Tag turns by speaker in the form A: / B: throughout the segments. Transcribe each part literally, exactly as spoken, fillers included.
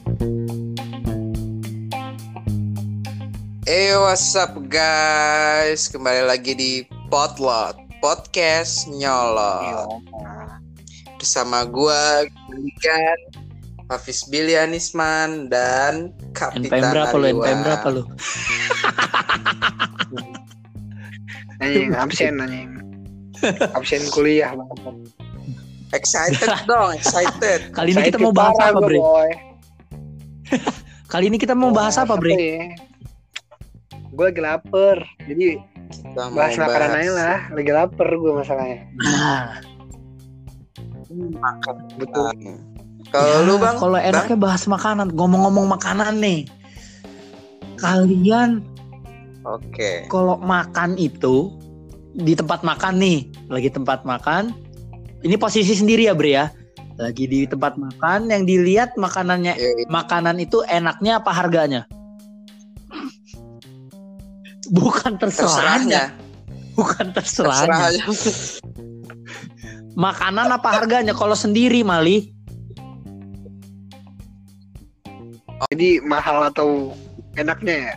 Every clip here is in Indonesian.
A: Hey, what's up guys? Kembali lagi di Potlot Podcast Nyolot. Bersama gua, Gilikan, Hafiz Bilianisman, dan Kapitan
B: N P M berapa lu?
A: Ariwan.
B: N P M berapa lu?
C: Anjing, absen anjing. Absen kuliah banget.
A: Excited dong, excited.
B: Kali ini
C: Saya
B: kita mau bahas
C: parah
B: apa,
C: gua,
B: Bre?
C: boy.
B: Kali ini kita mau bahas apa, Bre?
C: Gue lagi lapar. Jadi
A: Kita mau
C: bahas makanan
A: bahas
C: aja lah. Lagi lapar gue masalahnya.
B: Nah,
C: Betul.
A: Kalau
B: ya,
A: lu bang,
B: kalau enaknya bahas makanan. Ngomong-ngomong makanan nih. Kalian
A: oke.
B: kalau makan itu di tempat makan nih, lagi tempat makan. Ini posisi sendiri ya, Bre ya. Lagi di tempat makan yang dilihat makanannya,
A: Yoi.
B: makanan itu enaknya apa harganya? Bukan terserahnya,
A: Terserahnya.
B: bukan terserahnya.
A: Terserahnya.
B: Makanan apa harganya? Kalau sendiri, Mali.
C: Jadi mahal atau enaknya ya?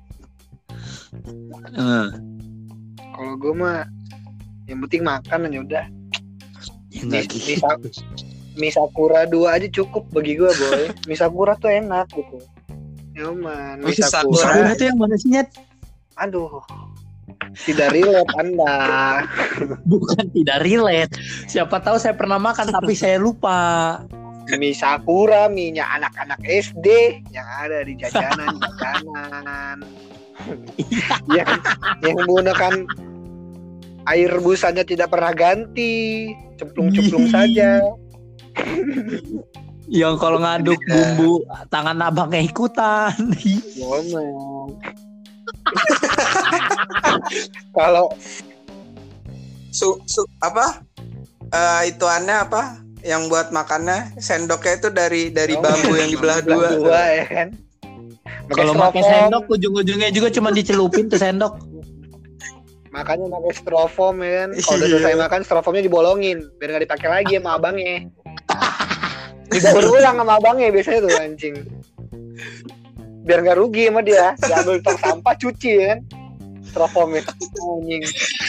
B: Eh,
C: Kalau gue mah yang penting makan aja udah.
B: ya nggak
C: Mie-
B: gitu.
C: mie- Mie Sakura dua aja cukup bagi gue, boy. Mie Sakura tuh enak gitu. Nyaman. Mie
A: Mie Sakura.
C: Sakura.
B: Sakura itu yang mana sih, Nyet?
C: Aduh. Tidak relate Anda.
B: Bukan tidak relate. Siapa tahu saya pernah makan tapi saya lupa.
C: Mie Sakura, mie-nya anak-anak S D yang ada di jajanan-jajanan. yang yang menggunakan air rebusannya tidak pernah ganti, cemplung-cemplung saja.
B: Yang kalau ngaduk bumbu tangan abangnya ikutan.
C: Ngomong. Kalau
A: Su, su apa? Eh itu aneh apa? Yang buat makannya sendoknya itu dari dari bambu yang dibelah dua.
C: dua ya kan.
B: Kalau pakai sendok ujung-ujungnya juga cuma dicelupin tuh sendok.
C: Makanya pakai styrofoam ya kan. Kalau udah selesai makan styrofoamnya dibolongin biar nggak dipakai lagi sama abangnya. Didaur ulang sama abangnya biasanya tuh anjing. Biar nggak rugi sama dia. Diambil tong sampah cuci ya kan. Styrofoamnya anjing.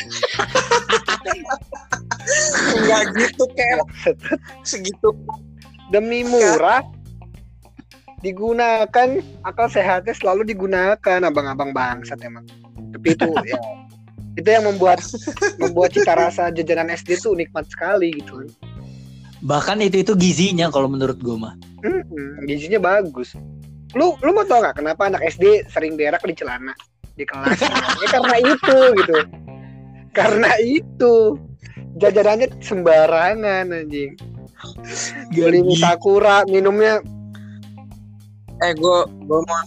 A: Enggak gitu kayak segitu.
C: Demi murah digunakan, akal sehatnya selalu digunakan, abang-abang bangsat emang. Tapi itu ya itu yang membuat membuat cita rasa jajanan S D tuh nikmat sekali gitu.
B: Bahkan itu itu gizinya kalau menurut gue mah.
C: Hmm, gizinya bagus. Lu lu mau tau nggak kenapa anak S D sering berak di celana di kelas? Ya karena itu gitu. Karena itu jajanannya sembarangan anjing. Beli mie Sakura, minumnya
A: Eh gue gue mau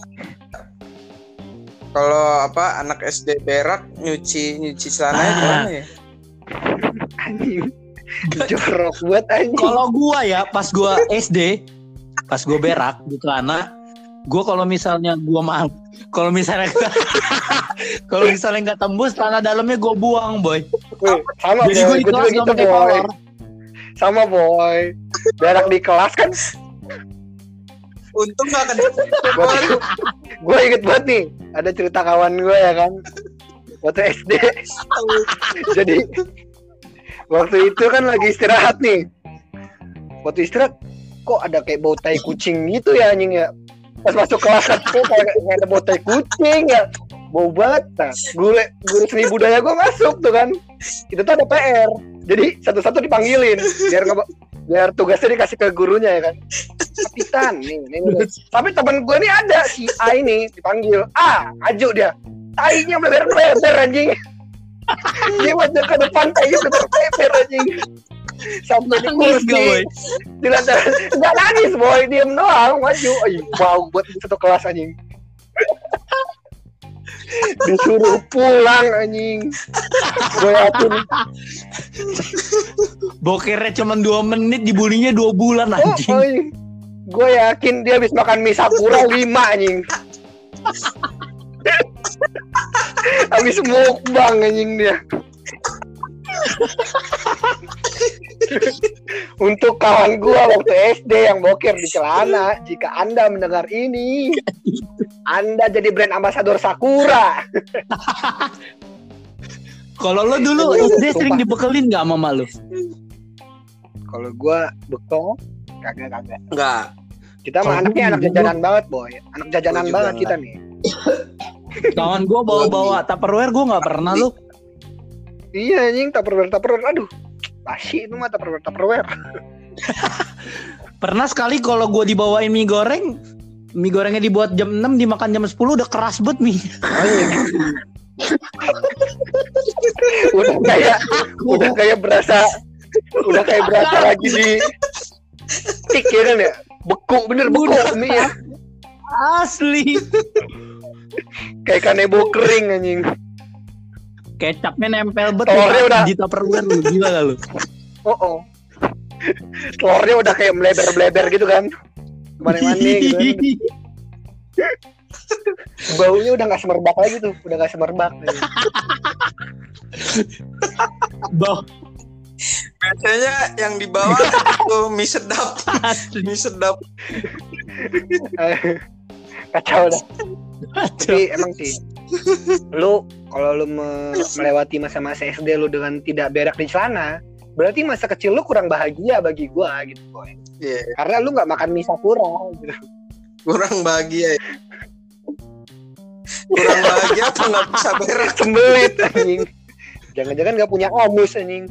A: kalau apa anak S D berak nyuci nyuci celananya
B: Ah.
A: gimana ya?
C: anjing. Jorok buat anjing.
B: Kalau gua ya pas gua S D, pas gua berak di celana, gua kalau misalnya gua maaf, kalau misalnya kalau misalnya nggak tembus celana dalamnya gua buang, boy.
C: Wih, sama
B: Jadi
C: boy,
B: gua di
C: gua
B: kelas
C: juga
B: nggak
C: gitu
B: pakai
C: boy.
B: kolor.
C: Sama boy. Berak di kelas kan.
A: Untung gak kena.
C: Waktu gue inget banget nih, ada cerita kawan gue ya kan, waktu S D. Jadi waktu itu kan lagi istirahat nih. Waktu istirahat, kok ada kayak bau tai kucing gitu ya anjing ya. Pas masuk kelas kok kayak, kayak ada bau tai kucing ya. Bau banget. Nah, guru, guru seni budaya gue masuk tuh kan. Itu tuh ada P R. Jadi satu-satu dipanggilin biar nggak biar tugasnya dikasih ke gurunya ya kan. Kapitan nih, nih, nih. Tapi temen gue nih ada si A ini dipanggil A, maju dia. Tainya melebar-lebar anjing. Dia maju ke depan tainya melebar-lebar anjing. Sampai di
B: Nangis
C: kursi.
B: gak, boy?
C: Di lantai enggak nangis boy, diem doang maju. Ay, wow, buat satu kelas anjing. Disuruh pulang anjing. Gue yakin.
B: Bokernya cuma dua menit, dibulinya dua bulan
C: Oh,
B: anjing.
C: oh, gue yakin dia habis makan mie Sakura lima anjing. Habis mukbang anjing dia. Untuk kawan gua waktu S D yang boker di celana, jika Anda mendengar ini, Anda jadi brand ambassador Sakura.
B: Kalau lo dulu S D sering dibekelin nggak sama lu?
C: Kalau gua bekal, kagak kagak.
A: Enggak.
C: Kita mah
B: Kalau
C: anaknya
B: gua
C: anak
B: juga.
C: jajanan banget, boy. Anak jajanan
A: Gua juga
C: banget kita
A: enggak.
C: nih.
B: Kawan gue bawa-bawa Tupperware, gue nggak pernah lu.
C: Iya anjing, Tupperware Tupperware. Aduh, basi itu mah Tupperware Tupperware.
B: Pernah sekali kalau gue dibawain mie goreng, mie gorengnya dibuat jam enam, dimakan jam sepuluh, udah keras banget mie.
C: Udah kayak, udah kayak berasa, udah kayak berasa lagi di tik ya kan ya. Beku, bener beku mie ya.
B: Asli.
C: Kayak kanebo kering anjing.
B: Kecapnya nempel bet
C: Telurnya
B: di-
C: udah-
B: di Tupperware lu, gila gak lu?
C: Oh oh. Telurnya udah kayak melebar-melebar gitu kan. Kemana-mana gitu kan. Baunya udah gak semerbak lagi tuh. Udah gak semerbak.
B: Bau
A: Biasanya yang di bawah itu mie sedap.
B: asli.
A: Mie sedap.
C: Kacau dah. Tapi emang sih, lu kalau lu me- melewati masa-masa S D lu dengan tidak berak di celana, berarti masa kecil lu kurang bahagia bagi gua gitu, boy.
A: Iya,
C: Karena lu nggak makan mie Sakura gitu.
A: kurang bahagia ya. Kurang bahagia apa nggak bisa berak?
C: Sembelit anjing. Jangan-jangan nggak punya amus anjing.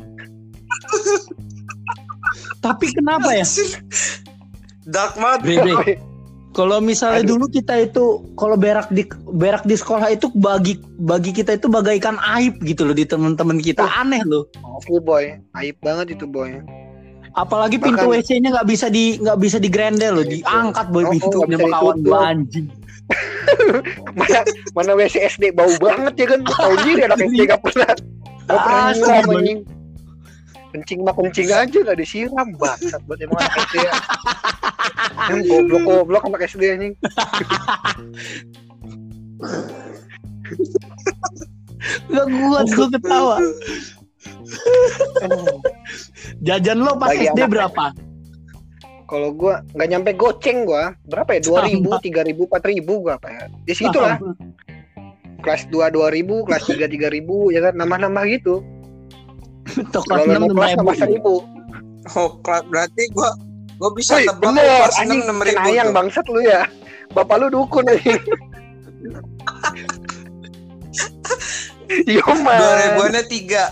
B: Tapi kenapa ya?
A: Dark banget.
B: Bre, bre. Kalau misalnya
C: Aduh.
B: dulu kita itu kalau berak di berak di sekolah itu bagi bagi kita itu bagaikan aib gitu loh di teman-teman kita. Aneh loh.
C: Asli boy, aib banget itu boy.
B: Apalagi pintu
C: Bahkan-
B: W C-nya nggak bisa di nggak bisa digrendel loh, diangkat boy
C: Oh, oh,
B: pintunya
C: nggak bisa
B: sama kawan
C: ditutup.
B: gua anjing.
C: Mana mana W C S D bau banget ya kan? Tahu diri anak S D nggak pernah nggak pernah
B: Asli,
C: nyiram
B: boy.
C: anjing. Kencing mah kencing aja nggak disiram bangsat buat emang anak S D ya. Yang goblok-goblok anak S D anjing.
B: Gak kuat gua ketawa. Jajan lo pas
C: Bagi
B: S D
C: anak-
B: berapa?
C: Kalau gua nggak nyampe goceng gua, berapa ya? dua ribu, tiga ribu, empat ribu gua apa ya? Di situ lah. Kelas dua dua ribu, kelas tiga tiga ribu ya kan, nambah-nambah gitu.
B: Toko
C: Kalau
B: enam
C: mau kelas nambah seribu.
A: Oh, kelas- berarti gua gua bisa
C: Woi,
A: tebak
C: bener,
A: kelas
C: anjing
A: enam ribu.
C: kenayang bangsat lu ya. Bapak lu dukun anjing. Yo man.
A: Dua ribuannya tiga.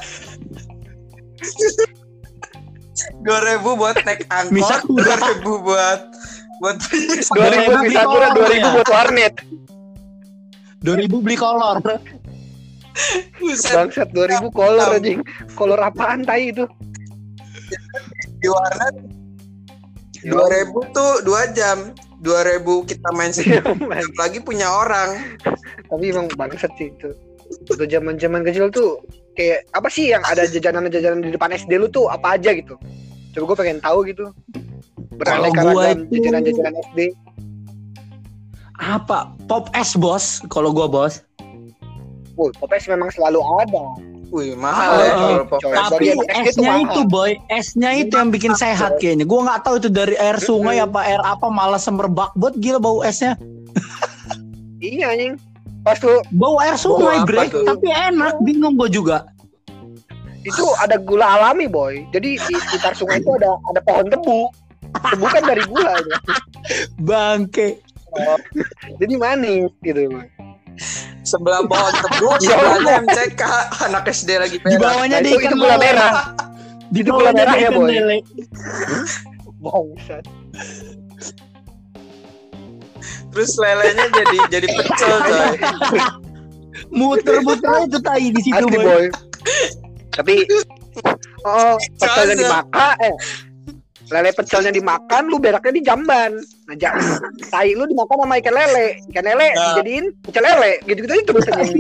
A: Dua ribu buat naik
B: Mie
A: angkot,
B: Sakura.
A: dua ribu buat buat
C: dua ribu
B: beli
C: bisa kurang,
B: kolor
C: dua ribu
B: ya?
C: buat warnet.
B: dua ribu beli kolor.
A: buset
C: Bangsat dua ribu kolor anjing. Kolor apaan tai itu?
A: di warnet. Dua ribu tuh dua jam. Dua ribu kita main sendiri. Lagi punya orang.
C: Tapi emang bangsat sih itu. Waktu zaman-zaman kecil tuh kayak apa sih yang ada jajanan-jajanan di depan S D lu tuh apa aja gitu. Coba gue pengen tahu gitu. Beraneka
B: Kalau gua
C: ragam
B: itu-
C: jajanan-jajanan S D.
B: Apa? Pop es bos. Kalau gua bos.
C: Woi, Popes memang selalu ada.
A: Wih, mahal
B: Ah,
A: ya
B: ah,
A: kalau pop.
C: coy.
B: Tapi
C: bagian es itu
B: esnya
C: mahal.
B: itu boy, esnya itu yang bikin sehat kayaknya. Gua nggak tahu itu dari air sungai
C: Mm-mm.
B: apa air apa, malah semerbak banget, gila bau esnya.
C: Iya anjing. Pas tuh
B: Bau air sungai
A: Bau apa
B: bre,
A: tuh?
B: tapi enak, bingung gua juga.
C: itu ada gula alami boy. Jadi di sekitar sungai itu ada ada pohon tebu. Tebu kan dari gula itu.
B: Bangke.
C: Jadi manis gitu boy.
A: Sebelah pohon tebu,
C: Ya
A: sebelahnya M C K, anak S D lagi
B: Di
A: berak.
B: bawahnya
C: Nah,
B: ada
C: itu,
B: ikan
C: itu gula
B: lele.
C: merah.
B: Di
C: Itu gula
B: bawahnya ada
C: merah ya,
B: ikan
C: Boy?
B: lele.
C: Bangsat.
A: Terus lelenya jadi jadi pecel coy.
B: Muter-muter itu tai di situ
C: Asli
B: boy.
C: boy. Tapi oh pecelnya
A: Caza.
C: dimakan eh lele pecelnya dimakan, lu beraknya di jamban. Nah, jam, tai lu dimakan sama ikan lele, ikan lele
A: Nah.
C: dijadiin pecel lele, gitu-gitu aja terus aja.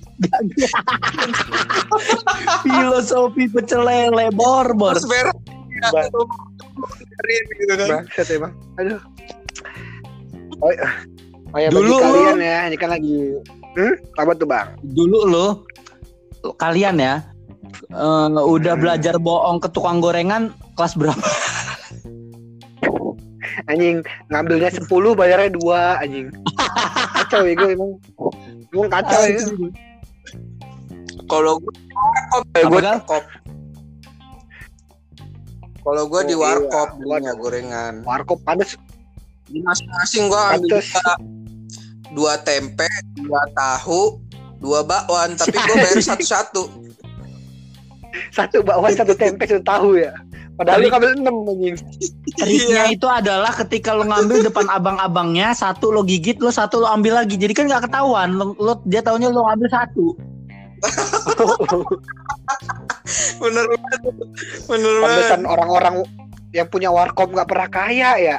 B: Filosofi pecel lele bor-bor.
A: Terus berak. Ya,
C: Bang.
A: gitu kan.
C: Bangsat emang. Aduh. Oh, iya. oh ya
B: Dulu
C: bagi
B: lu-
C: kalian ya, ini kan lagi hmm? Apa tuh bang?
B: Dulu lo kalian ya eh, udah belajar bohong ke tukang gorengan Kelas berapa?
C: Anjing, ngambilnya sepuluh bayarnya dua anjing. Kacau ya gue emang. Emang kacau ya.
A: Kalau gue warkop,
B: Apa,
A: gue
B: Gal?
A: warkop. Kalau gue di
C: Oh, iya.
A: warkop belinya gorengan.
C: Warkop panas.
A: Di masing-masing gue ambil
C: Pantes.
A: juga dua tempe, dua tahu, dua bakwan, tapi gue bayar satu-satu.
C: Satu bakwan, satu tempe, satu tahu ya. Padahal lu ngambil enam anjing.
B: Triknya itu adalah ketika lo ngambil depan abang-abangnya, satu lo gigit, lo satu lo ambil lagi. Jadi kan nggak ketahuan. Lo, lo dia taunya lo ngambil satu.
A: Bener banget. Bener banget.
C: Pantesan orang-orang yang punya warkop nggak pernah kaya ya.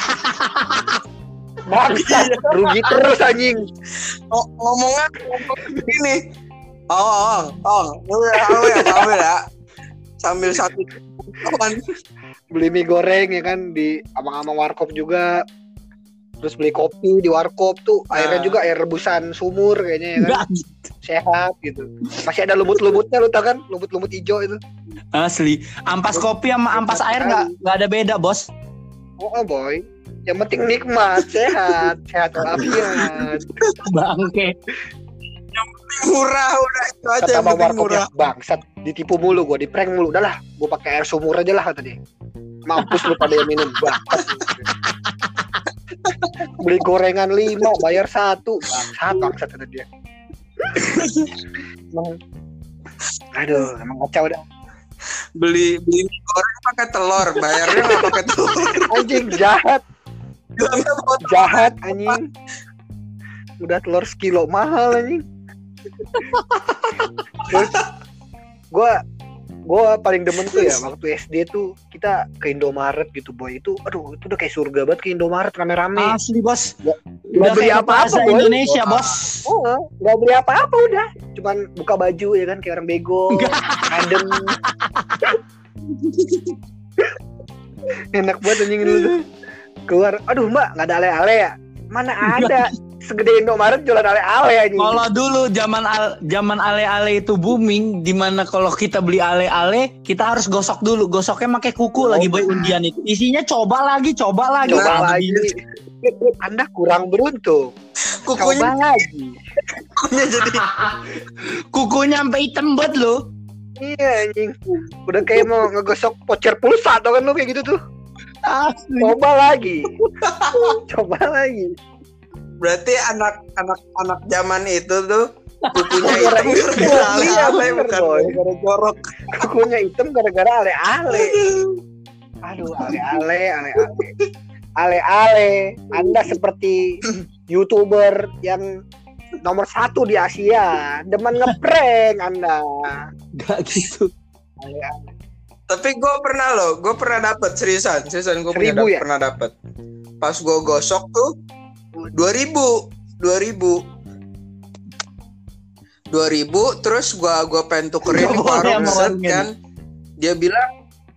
C: Bangsa, rugi terus anjing.
A: Oh, ngomongnya ngomong gini. Oh, oh, oh, ambil ya, ambil ya. Sambil satu kawan.
C: Beli mie goreng ya kan di amang-amang warkop juga. Terus beli kopi di warkop tuh, airnya
A: Nah.
C: juga air rebusan sumur kayaknya ya kan.
B: Nggak,
C: Sehat gitu. Masih ada lumut-lumutnya lu tau kan? Lumut-lumut hijau itu.
B: asli. Ampas kopi sama ampas air nggak nggak ada beda, bos.
C: Oh, oh boy. Yang penting nikmat, sehat, sehat walafiat.
B: Bangke.
A: Murah udah itu aja
C: Kata
A: yang
C: bang
A: penting
C: warkop
A: murah.
C: ya, bangsat, ditipu mulu gua, di prank mulu. Udah lah, gua pakai air sumur aja lah kata dia. Mampus lu pada yang minum, bangsat. Beli gorengan lima, bayar satu, bangsat, bangsat kata dia. Emang, aduh, emang kacau dah.
A: Beli beli mie goreng pakai telur, bayarnya nggak pakai telur.
C: Anjing jahat,
A: Bilangnya buat
C: jahat anjing. Udah telur sekilo mahal anjing. Terus gua gua paling demen tuh ya waktu S D tuh kita ke Indomaret gitu boy, itu aduh itu udah kayak surga banget ke Indomaret rame-rame.
B: Asli, bos.
C: Nggak
B: Udah
C: beli
B: kayak
C: apa-apa
B: bahasa
C: boy.
B: Indonesia, bos.
C: Oh, nggak beli apa-apa udah, cuman buka baju ya kan kayak orang bego, adem. Enak banget anjing dulu tuh. Keluar, aduh mbak nggak ada ale-ale ya? Mana ada? Segede Indomaret jualan ale-ale anjing.
B: Kalau dulu zaman al, zaman ale-ale itu booming, dimana kalau kita beli ale-ale kita harus gosok dulu, gosoknya pakai kuku
C: Oh,
B: lagi boy undian itu. Isinya coba lagi, coba lagi.
C: Coba
B: Anjing.
C: lagi. Anda kurang beruntung.
A: kukunya
C: Coba lagi.
A: kukunya jadi
B: Kukunya sampai hitam banget lo.
C: Iya anjing. Udah kayak mau ngegosok voucher pulsa tau kan lu kayak gitu tuh.
B: Asli.
C: Coba lagi. Coba lagi.
A: berarti anak anak anak zaman itu tuh kukunya
C: Gara-gara
A: hitam
C: itu,
A: gara-gara
C: iya,
A: ale-ale
C: bener,
A: bukan
C: boy.
A: gara-gara jorok.
C: Kukunya hitam gara-gara ale-ale. Aduh, ale-ale, ale-ale. Ale-ale. Anda seperti YouTuber yang nomor satu di Asia. Demen ngeprank Anda.
B: Gak gitu.
C: Ale-ale.
A: Tapi gue pernah loh, gue pernah dapet seriusan, seriusan gue punya
C: Seribu
A: dap-
C: ya?
A: pernah dapet. Pas gue gosok tuh dua ribu, dua ribu, dua ribu. Terus gue gue pengen tukerin
B: Nggak
A: di
B: boleh
A: warung
B: sama
A: set
B: warungnya
A: kan. Dia bilang,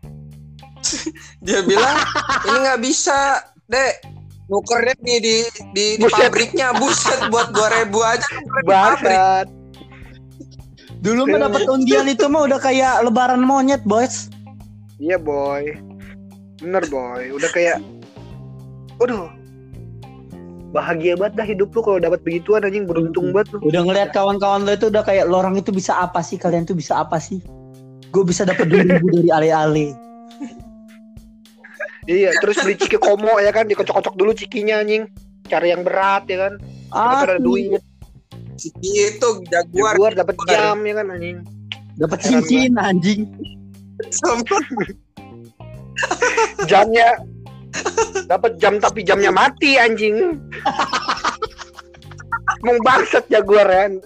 A: dia bilang ini nggak bisa, dek. Nukernya di di di, di
C: Buset.
A: pabriknya, buset buat dua ribu aja. nukerin di pabrik.
C: Bangsat.
B: Dulu mah dapat undian itu mah udah kayak lebaran monyet, bos.
C: Iya boy. Bener boy. Udah kayak, aduh, bahagia banget dah hidup lu kalau dapat begituan anjing, beruntung banget lu.
B: Udah ngeliat kawan-kawan lo itu udah kayak lo orang itu bisa apa sih? Kalian tuh bisa apa sih? Gue bisa dapat dua ribu dari ale-ale.
C: Iya, terus beli ciki komo ya kan, dikocok-kocok dulu cikinya anjing. Cari yang berat ya kan. Dapat ada
B: Asli.
C: duit,
A: Itu jaguar.
C: jaguar dapat jam ya kan anjing.
B: Dapat cincin anjing.
A: Sumpah.
C: Jamnya dapat jam tapi jamnya mati anjing. Mau bangsat jaguar kan.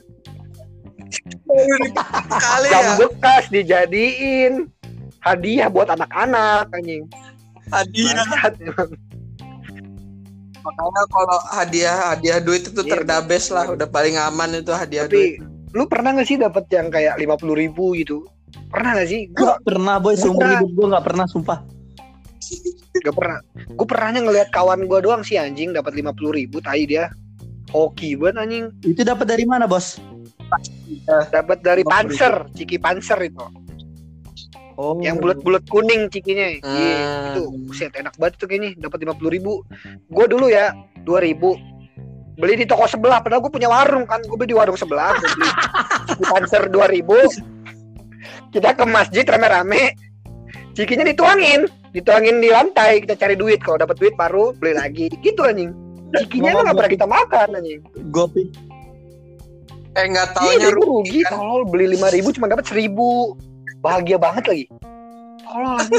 A: Kali
C: Jam
A: ya
C: bekas dijadiin hadiah buat anak-anak anjing.
A: hadiah.
C: Bangsat emang.
A: Makanya kalau hadiah hadiah duit itu
C: Iya,
A: terdabes lah, udah paling aman itu hadiah duit.
C: Tapi lu pernah gak sih dapat yang kayak lima puluh ribu gitu? Pernah gak sih?
B: Gue
C: Gua
B: gak pernah boy, seumur
C: Pernah.
B: hidup gue gak pernah sumpah.
C: gak pernah. Gue pernahnya ngelihat kawan gue doang sih anjing dapat lima puluh ribu, tai dia. Hoki banget anjing.
B: Itu dapat dari mana bos?
C: Dapat dari
A: lima puluh ribu.
C: Panser, Ciki Panser itu.
B: Oh.
C: Yang bulat-bulat kuning cikinya.
A: Hmm.
C: Iya, itu buset enak banget tuh kayaknya, dapat lima puluh ribu. Gue dulu ya dua ribu beli di toko sebelah, padahal gue punya warung kan. Gue beli di warung sebelah, gue beli di Panser dua ribu. Kita ke masjid rame-rame. Cikinya dituangin, dituangin di lantai, kita cari duit. Kalau dapat duit baru beli lagi. Gitu anjing. Cikinya emang enggak pernah kita makan anjing.
B: Gopi.
A: Eh nggak
C: Iya,
A: taunya
C: gue rugi
A: kan?
C: tolol, beli lima ribu cuma dapat seribu. Bahagia banget lagi. Tolol anjing.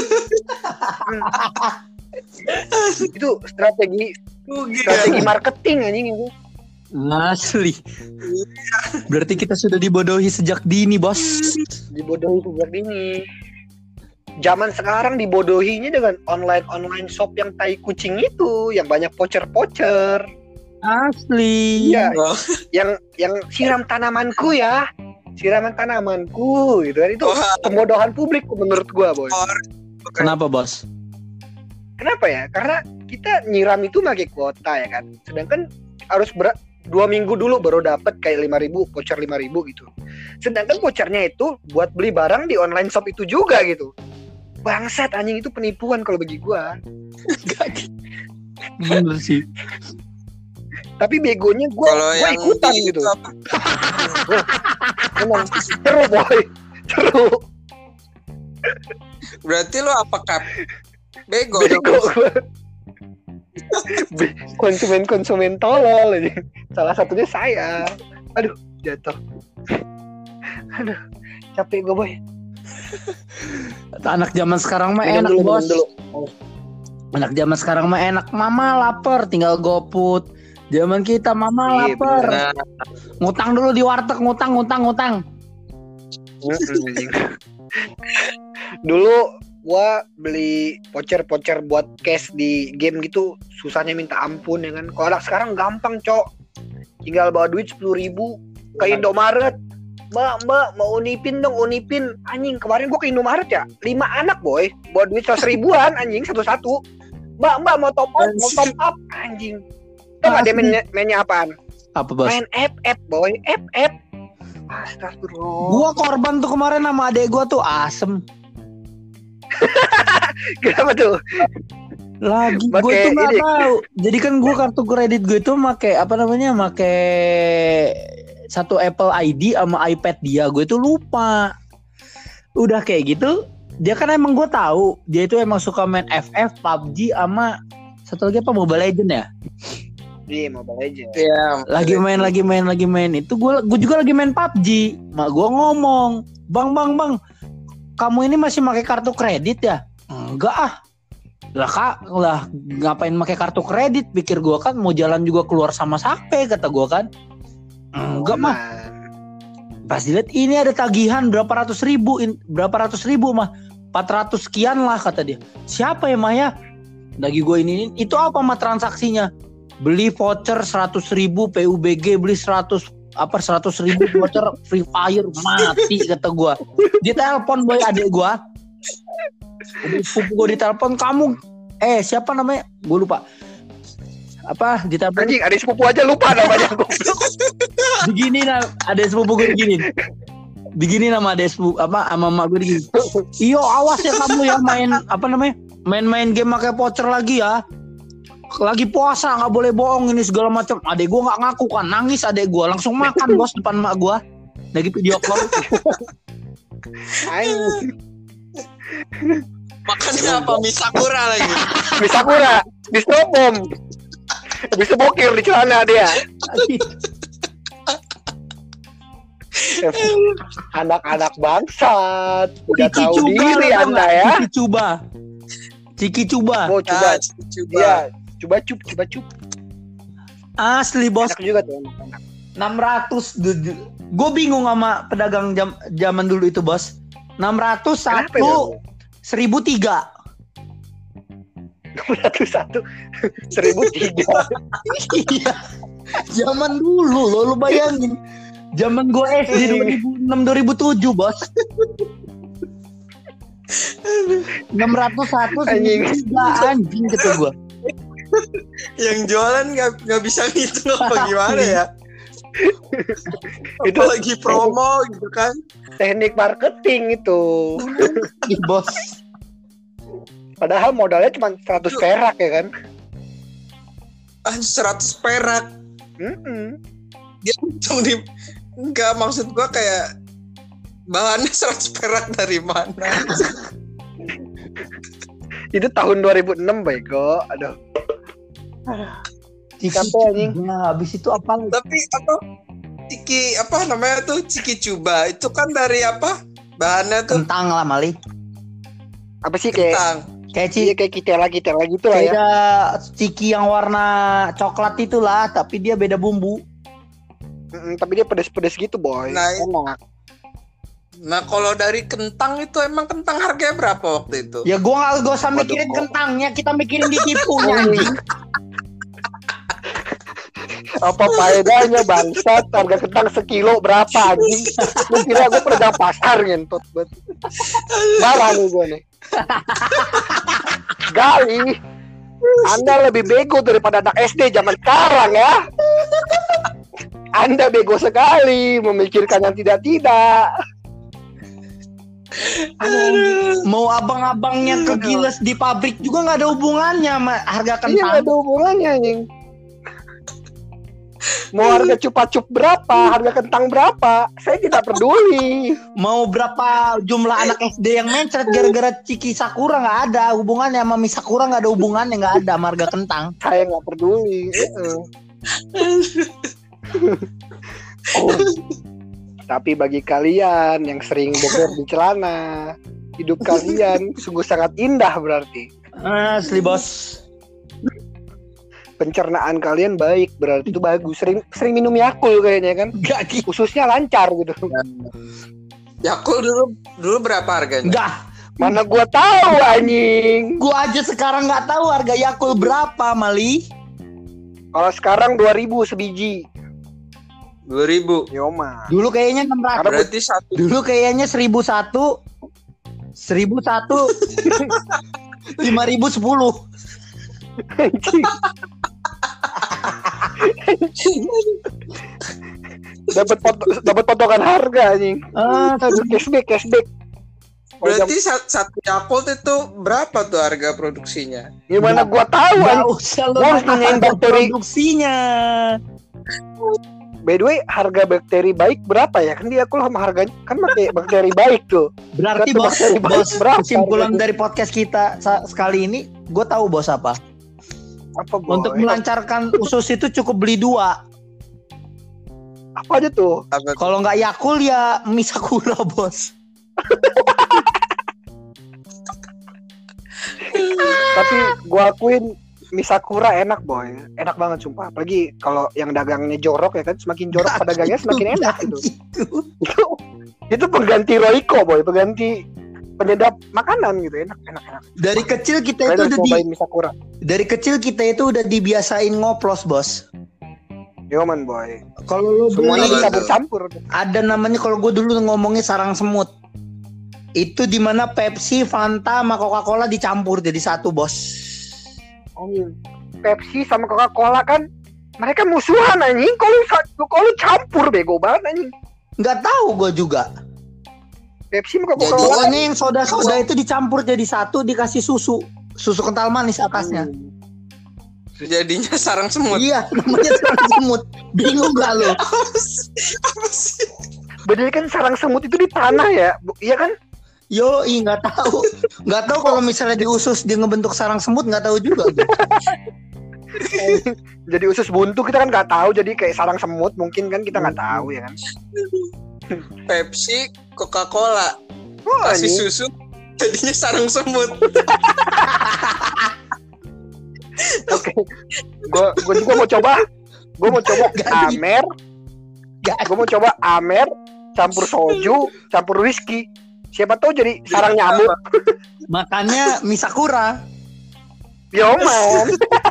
C: Hmm. Itu strategi
A: Rugi
C: strategi
A: ya.
C: marketing anjing itu.
B: Asli. Berarti kita sudah dibodohi sejak dini, Bos.
C: Dibodohi sejak dini. Zaman sekarang dibodohinya dengan online-online shop yang tai kucing itu, yang banyak pocer-pocer.
B: Asli.
C: Iya,
A: Oh.
C: yang yang siram tanamanku ya. Siraman tanamanku gitu kan, itu
A: Wah.
C: pembodohan publik menurut gua, Boy.
B: Kenapa, Bos?
C: Kenapa ya? Karena kita nyiram itu pakai kuota ya kan. Sedangkan harus ber- dua minggu dulu baru dapat kayak lima ribu, voucher lima ribu gitu. Sedangkan vouchernya itu buat beli barang di online shop itu juga gitu. Bangsat anjing, itu penipuan kalau bagi gua.
B: Bener sih.
C: Tapi begonya gua,
A: Kalau
C: gua
A: yang
C: ikutan
A: di-
C: gitu.
A: itu apa?
C: Emang seru, Boy. Seru.
A: Berarti lu apa Kap? Bego
C: Bego
A: dong.
C: gua. Be- konsumen-konsumen tolol aja. Salah satunya saya. Aduh, jatuh. Aduh, capek gue, Boy.
B: Anak zaman sekarang mah
C: Minum
B: enak,
C: dulu,
B: Bos.
C: minum dulu.
B: Anak zaman sekarang mah enak. Mama lapar, tinggal GoFood. Zaman kita mama
C: Iya,
B: lapar.
A: Nah,
B: Ngutang dulu di warteg, ngutang, ngutang, ngutang.
C: Dulu gua beli voucher-voucher buat cash di game gitu susahnya minta ampun ya kan. Kalau anak sekarang gampang, Cok. Tinggal bawa duit sepuluh ribu ke Indomaret. Mbak, mbak, mau unipin dong, unipin. Anjing, kemarin gua ke Indomaret ya, lima anak, Boy. Bawa duit seratus ribuan, anjing, satu-satu. Mbak, mbak, mau top up, mau top up. Anjing. Tau gak dia mainnya, mainnya apaan?
B: Apa, Bos?
C: Main F F, Boy. F F. Astagfirullah.
B: Gua korban tuh kemarin sama adek gua tuh asem.
C: Kenapa tuh?
B: Lagi gue
C: Pakai
B: tuh nggak
C: ini.
B: tahu. Jadi kan gue kartu kredit gue tuh make apa namanya, make satu Apple I D sama iPad dia. Gue tuh lupa. Udah kayak gitu, dia kan emang gue tahu dia itu emang suka main F F, P U B G sama satu lagi apa, Mobile Legend ya.
C: Iya, Mobile Legends.
A: iya.
B: Lagi main, lagi main, lagi main. Itu gue, gue juga lagi main P U B G. Mak gue ngomong, bang, bang, bang, kamu ini masih pakai kartu kredit ya? Enggak ah. Lah kak, lah ngapain pakai kartu kredit? Pikir gue kan mau jalan juga keluar sama sape, kata gue kan. Enggak mah. Pas dilihat ini ada tagihan berapa ratus ribu, in, berapa ratus ribu mah, empat ratus sekian lah kata dia. Siapa ya Maya? Lagi gue ini, itu apa mah transaksinya? Beli voucher seratus ribu P U B G, beli seratus apa seratus ribu voucher Free Fire, mati kata gue. Dia telepon boy adik gue. Sepupu gue ditelepon, kamu eh siapa namanya? Gue lupa. Apa ditelepon?
C: Anjing, adik sepupu aja lupa namanya.
B: Begini nah, ada sepupu gue begini. Begini nama ada sepupu apa sama mak gue begini. Iyo awas ya kamu ya main apa namanya? Main-main game pakai voucher lagi ya. Lagi puasa nggak boleh bohong ini segala macam. Adek gue nggak ngaku kan, nangis adek gue langsung makan bos depan mak gue. Lagi video call.
C: Anjing.
A: Makannya apa? Mie Sakura lagi.
C: Bisa kura, bisa bom. Bisa bokir di celana dia. Anak-anak bangsat, udah
B: Ciki
C: tahu
B: Cuba,
C: diri
B: tau
C: Anda
B: nggak?
C: ya.
B: Ciki Cuba. Ciki Cuba.
C: Oh, coba,
A: Ah, coba.
C: dia coba cup, coba cup.
B: Asli bos.
C: Enak juga tuh anak-anak.
B: enam ratus. Gue bingung sama pedagang jam, zaman dulu itu bos. enam ratus
C: Kenapa ya?
B: satu seribu tiga.
C: enam ratus satu seribu tiga.
B: Iya. Zaman dulu lo lu bayangin. Zaman gue S D dua ribu enam dua ribu tujuh bos. enam ratus satu
C: Anjing.
B: seribu tiga anjing kata gue.
A: Yang jualan nggak nggak bisa ngitung apa gimana ya?
C: Itu
A: lagi promo gitu kan.
C: teknik marketing itu.
B: Ih, bos.
C: Padahal modalnya cuma seratus perak ya kan.
A: Ah, seratus perak.
C: Mm-mm.
A: Dia langsung di enggak, maksud gua kayak bahannya seratus perak dari mana?
C: Itu tahun dua ribu enam bego. Aduh.
B: Ciki
C: Sampai, anjing.
B: Cuba. Habis itu apa?
A: Tapi apa ciki apa namanya tuh ciki cuba itu kan dari apa? Bahannya tuh
B: Kentang lah Mali.
C: Apa sih kayak
A: kentang.
B: Kayak
C: iya,
B: ciki
C: kayak kitela kitela gitu lah ya.
B: beda ciki yang warna coklat itulah, tapi dia beda bumbu.
C: Mm-mm, tapi dia pedes-pedes gitu boy.
A: Nah,
C: Enak.
A: Nah, kalau dari kentang itu emang kentang harganya berapa waktu itu?
B: Ya gua nggak gak usah
C: Waduh,
B: mikirin
C: kok.
B: kentangnya, kita mikirin ditipunya anjing.
C: Apa faedahnya bangsat? Harga kentang sekilo berapa anjing? Lu kira gue pedagang pasar ngentot banget. Marah nih gue nih. Gali, Anda lebih bego daripada anak S D zaman sekarang ya. Anda bego sekali memikirkan yang tidak-tidak.
B: Mau abang-abangnya ke Giles di pabrik juga nggak ada hubungannya sama harga
C: Iya nggak
B: kentang.
C: ada hubungannya anjing. Mau harga cupa-cup berapa, harga kentang berapa, saya tidak peduli.
B: Mau berapa jumlah anak S D yang mencret gara-gara Ciki Sakura, nggak ada hubungannya sama Mi Sakura, nggak ada hubungannya, nggak ada sama harga kentang.
C: Saya nggak peduli. Uh-uh. Oh. Tapi bagi kalian yang sering boker di celana, hidup kalian sungguh sangat indah berarti.
B: Asli bos.
C: Pencernaan kalian baik berarti itu bagus. Sering sering minum Yakult kayaknya kan.
B: Gak gitu.
C: Ususnya lancar gitu.
A: Yakult dulu dulu berapa harganya?
B: Enggak.
C: Mana gua tahu anjing.
B: Gua aja sekarang nggak tahu harga Yakult berapa, Mali.
C: Kalau sekarang dua ribu sebiji.
A: dua ribu.
C: Yoma.
B: Dulu kayaknya enam ratus.
A: Berarti satu.
B: Dulu kayaknya seribu satu. seribu satu. lima ribu sepuluh.
C: Dapat pot- dapat potongan harga anjing.
B: Ah,
C: Aduh, cashback cashback.
A: Berarti satu, satu Yakult itu berapa tuh harga produksinya?
C: Gimana gua tahu
B: nggak
C: anjing.
B: usah lo
C: Gua harus
B: nanya
C: nanyain
B: harga
C: bakteri.
B: produksinya.
C: By the way, harga bakteri baik berapa ya? Kan dia aku sama harganya kan pakai bakteri baik tuh.
B: Berarti
C: Satu
B: bos,
C: bakteri baik
B: bos
C: berapa
B: kesimpulan
C: harganya?
B: dari podcast kita sa- sekali ini, gue tahu bos apa.
C: Apa boy?
B: Untuk melancarkan usus itu cukup beli dua.
C: Apa aja tuh?
A: Apa tuh?
B: Kalau nggak Yakult ya Mi Sakura bos.
C: Tapi gua akuin Mi Sakura enak boy, enak banget sumpah. Apalagi kalau yang dagangnya jorok ya kan, semakin jorok pedagangnya semakin enak gitu. Itu itu pengganti Royco boy, pengganti penyedap makanan gitu, enak enak enak.
B: Dari kecil kita
C: Kalian
B: itu
C: harus
B: udah di,
C: cobain Mi Sakura.
B: dari kecil kita itu udah dibiasain ngoplos bos.
C: Yoman boy,
B: Kalau lu
C: semuanya
B: beli,
C: dicampur-campur.
B: ada namanya, kalau gue dulu ngomongnya sarang semut. Itu dimana Pepsi, Fanta, sama Coca-Cola dicampur jadi satu bos.
C: Anjing. Pepsi sama Coca-Cola kan mereka musuhan anjing. Kalau kalau campur bego banget anjing.
B: Nggak tahu gue juga.
C: Pepsi sama
A: Jadi,
C: Coca-Cola.
B: Pokoknya yang soda-soda itu dicampur jadi satu, dikasih susu. Susu kental manis atasnya.
C: Hmm.
A: Jadinya sarang semut.
B: Iya, namanya sarang semut. Bingung gak lo?
A: Apa sih? Apa sih?
C: Bedanya kan sarang semut itu di tanah ya, Bu- iya kan?
B: Yo, ih nggak tahu. Nggak tahu kalau misalnya di usus dia ngebentuk sarang semut, nggak tahu juga.
C: Jadi usus buntu kita kan nggak tahu, jadi kayak sarang semut mungkin kan kita nggak tahu ya kan?
A: Pepsi, Coca-Cola,
C: Oh,
A: kasih
C: anjing.
A: susu, jadinya sarang semut.
C: Oke, gua gua juga mau coba, gua mau coba
B: Ganti.
C: Amer, gua mau coba Amer campur soju, campur whisky. Siapa tahu jadi sarang nyamuk.
B: Makanya Mi Sakura.
C: Yoman.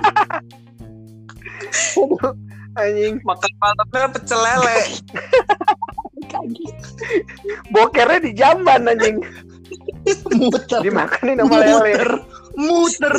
C: Aduh, anjing,
A: Makan malamnya pecel lele.
C: bokernya di jamban anjing,
B: Muter.
C: dimakanin sama lele.
B: Muter. Muter.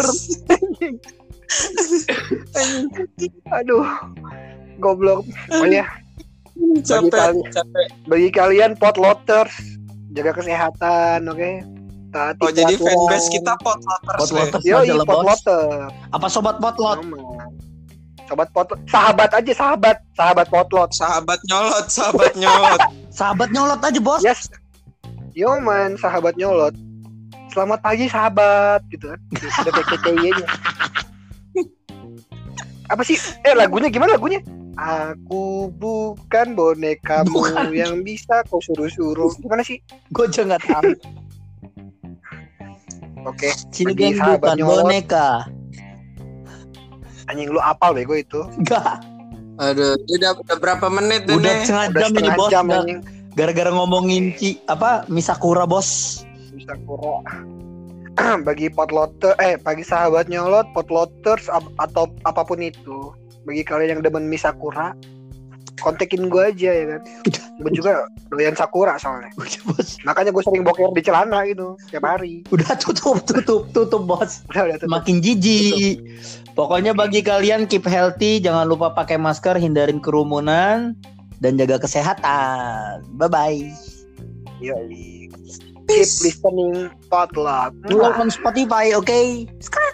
C: Aduh, goblok. Oh ya, Bagi,
A: Capek,
C: kali-
A: capek.
C: bagi kalian potloters, jaga kesehatan, oke? Taati
A: Oh, jadi
C: peraturan.
A: fanbase kita potloters.
B: Potloters
A: ya?
C: Yoi,
B: adalah bos.
C: potlotter.
B: Apa sobat potlot?
C: Aman. Sobat potlot, sahabat aja sahabat, sahabat potlot.
A: Sahabat nyolot, sahabat nyolot.
B: Sahabat nyolot aja bos.
C: Yes. Yo man, sahabat nyolot. Selamat pagi sahabat, gitu kan. Udah P K T Y-nya. Apa sih? Eh lagunya gimana lagunya? Aku bukan bonekamu
B: Bukan.
C: yang bisa kau suruh-suruh. Gimana sih?
B: Gue juga nggak tahu.
C: Oke,
B: Cilegan
C: Bagi sahabat
B: bukan
C: nyolot.
B: boneka.
C: anjing lu apal bego itu.
B: Enggak.
A: Aduh, udah, udah berapa menit
B: Udah
A: ini?
B: setengah
C: Udah
B: jam ini
C: setengah
B: bos.
C: jam
B: Udah
C: anjing.
B: gara-gara ngomongin Ci apa Misakura bos.
C: Bisa kurang. Bagi potlotter, eh bagi sahabat nyolot, potlotters ap- atau apapun itu, bagi kalian yang demen mie Sakura, kontekin gue aja ya kan. Gue juga doyan Sakura soalnya.
B: Udah bos.
C: Makanya gue sering boker di celana gitu tiap hari.
B: Udah tutup tutup tutup bos.
C: Udah udah tutup.
B: Makin jijik. Pokoknya bagi kalian keep healthy, jangan lupa pakai masker, hindarin kerumunan dan jaga kesehatan. Bye bye.
C: Yoi. Keep listening Potlot.
B: Follow on Spotify, oke? Okay?